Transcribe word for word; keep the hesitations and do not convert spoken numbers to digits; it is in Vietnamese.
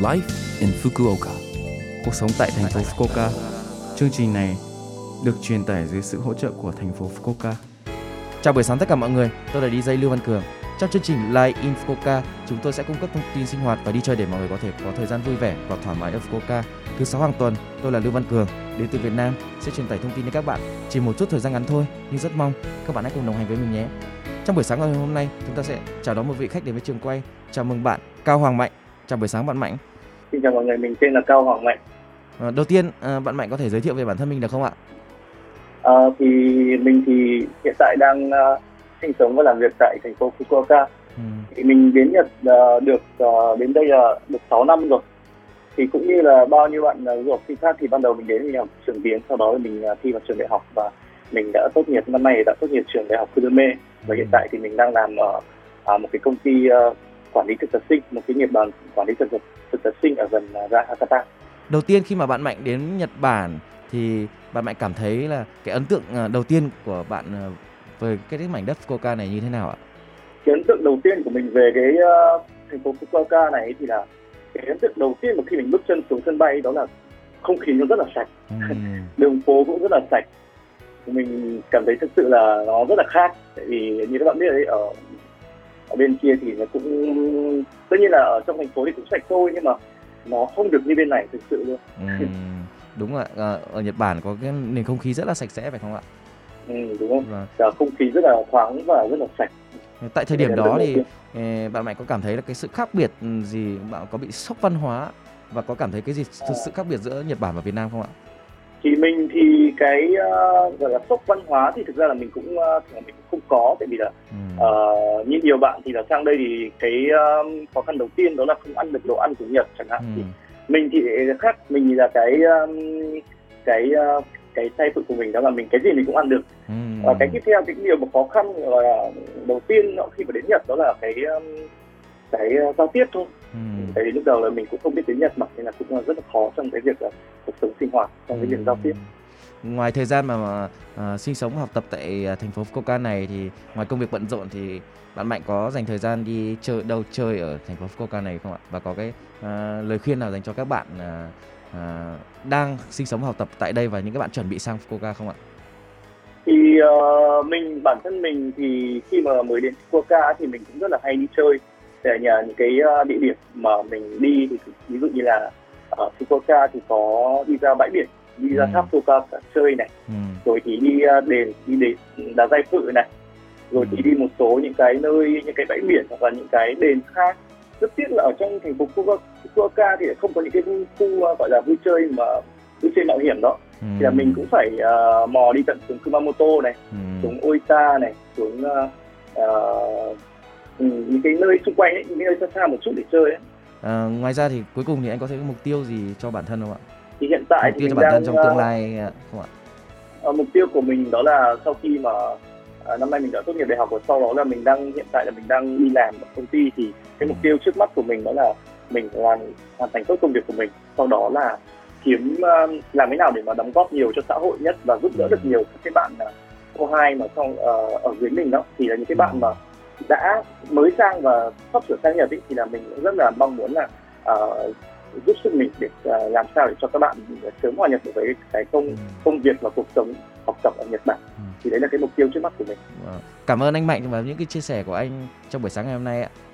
Life in Fukuoka. Cuộc sống tại thành phố Fukuoka. Chương trình này được truyền tải dưới sự hỗ trợ của thành phố Fukuoka. Chào buổi sáng tất cả mọi người, tôi là đi jay Lưu Văn Cường. Trong chương trình Life in Fukuoka, chúng tôi sẽ cung cấp thông tin sinh hoạt và đi chơi để mọi người có thể có thời gian vui vẻ và thoải mái ở Fukuoka. Thứ sáu hàng tuần, tôi là Lưu Văn Cường, đến từ Việt Nam, sẽ truyền tải thông tin đến các bạn. Chỉ một chút thời gian ngắn thôi, nhưng rất mong các bạn hãy cùng đồng hành với mình nhé. Trong buổi sáng ngày hôm nay, chúng ta sẽ chào đón một vị khách đến với trường quay. Chào mừng bạn Cao Hoàng Mạnh. Chào buổi sáng bạn Mạnh. Xin chào mọi người, mình tên là Cao Hoàng Mạnh. À, đầu tiên, à, bạn Mạnh có thể giới thiệu về bản thân mình được không ạ? À, thì mình thì hiện tại đang uh, sinh sống và làm việc tại thành phố Fukuoka. Ừ. Thì mình đến Nhật uh, được uh, đến đây là uh, được sáu năm rồi. Thì cũng như là bao nhiêu bạn uh, du học sinh khác thì ban đầu mình đến mình học trường tiếng, sau đó mình uh, thi vào trường đại học và mình đã tốt nghiệp năm nay đã tốt nghiệp trường đại học Kurume và hiện tại thì mình đang làm ở uh, một cái công ty uh, quản lý thực tập sinh, một cái nghiệp đoàn quản lý thực tập thực tập sinh ở gần uh, ga Hakata. Đầu tiên khi mà bạn Mạnh đến Nhật Bản thì bạn Mạnh cảm thấy là cái ấn tượng đầu tiên của bạn về cái mảnh đất Fukuoka này như thế nào ạ? Cái ấn tượng đầu tiên của mình về cái uh, thành phố Fukuoka này thì là cái ấn tượng đầu tiên mà khi mình bước chân xuống sân bay đó là không khí nó rất là sạch, uhm. đường phố cũng rất là sạch. Mình cảm thấy thực sự là nó rất là khác, tại vì như các bạn biết đấy, ở ở bên kia thì nó cũng tất nhiên là ở trong thành phố thì cũng sạch thôi, nhưng mà nó không được như bên này thực sự luôn. Ừ, đúng ạ, ở Nhật Bản có cái nền không khí rất là sạch sẽ phải không ạ? Ừ, đúng không? Vâng. Không khí rất là thoáng và rất là sạch. Tại thời điểm đó thì bạn Mạnh có cảm thấy là cái sự khác biệt gì, bạn có bị sốc văn hóa và có cảm thấy cái gì thực sự khác biệt giữa Nhật Bản và Việt Nam không ạ? Thì mình thì cái uh, gọi là sốc văn hóa thì thực ra là mình cũng uh, mình cũng không có, tại vì là ừ. uh, như nhiều bạn thì là sang đây thì cái uh, khó khăn đầu tiên đó là không ăn được đồ ăn của Nhật chẳng hạn. Ừ. Thì mình thì khác, mình là cái um, cái uh, cái tay phụ của mình đó là mình cái gì mình cũng ăn được. Ừ. Uh, cái tiếp theo cái điều mà khó khăn là đầu tiên khi mà đến Nhật đó là cái um, cái uh, giao tiếp thôi. Ừ. Tại vì lúc đầu là mình cũng không biết tiếng Nhật mà nên là cũng rất là khó trong cái việc uh, cuộc sống sinh hoạt, trong cái việc giao tiếp. Ngoài thời gian mà, mà uh, sinh sống học tập tại uh, thành phố Fukuoka này thì ngoài công việc bận rộn thì bạn Mạnh có dành thời gian đi chơi đâu chơi ở thành phố Fukuoka này không ạ? Và có cái uh, lời khuyên nào dành cho các bạn uh, uh, đang sinh sống học tập tại đây và những các bạn chuẩn bị sang Fukuoka không ạ? Thì uh, mình bản thân mình thì khi mà mới đến Fukuoka thì mình cũng rất là hay đi chơi. Để nhờ những cái uh, địa điểm mà mình đi thì ví dụ như là ở Fukuoka thì có đi ra bãi biển, đi ra tháp ừ. Fukuoka chơi này, ừ. rồi thì đi uh, đền, đi đền đá Dai Phự này, rồi ừ. thì đi một số những cái nơi, những cái bãi biển hoặc là những cái đền khác. Rất tiếc là ở trong thành phố Fukuoka thì không có những cái khu uh, gọi là vui chơi mà vui chơi mạo hiểm đó. Ừ. Thì là mình cũng phải uh, mò đi tận xuống Kumamoto này, ừ. xuống Oita này, xuống uh, uh, Ừ, những cái nơi xung quanh ấy, những cái nơi xa xa một chút để chơi ấy. À, ngoài ra thì cuối cùng thì anh có thấy cái mục tiêu gì cho bản thân không ạ? Thì hiện tại mục tiêu thì cho mình bản đang, thân trong tương lai không ạ? Uh, mục tiêu của mình đó là sau khi mà uh, năm nay mình đã tốt nghiệp đại học và sau đó là mình đang hiện tại là mình đang đi làm ở công ty, thì cái mục tiêu trước mắt của mình đó là mình làm hoàn thành tốt công việc của mình, sau đó là kiếm uh, làm thế nào để mà đóng góp nhiều cho xã hội nhất và giúp đỡ được nhiều các cái bạn uh, cô hai mà trong uh, ở dưới mình đó, thì là những cái bạn mà đã mới sang và sắp sửa sang Nhật ý, thì là mình cũng rất là mong muốn là uh, giúp sức mình để uh, làm sao để cho các bạn sớm hòa nhập được với cái công ừ. công việc và cuộc sống học tập ở Nhật Bản. Ừ. Thì đấy là cái mục tiêu trước mắt của mình. Cảm ơn anh Mạnh và những cái chia sẻ của anh trong buổi sáng ngày hôm nay ạ.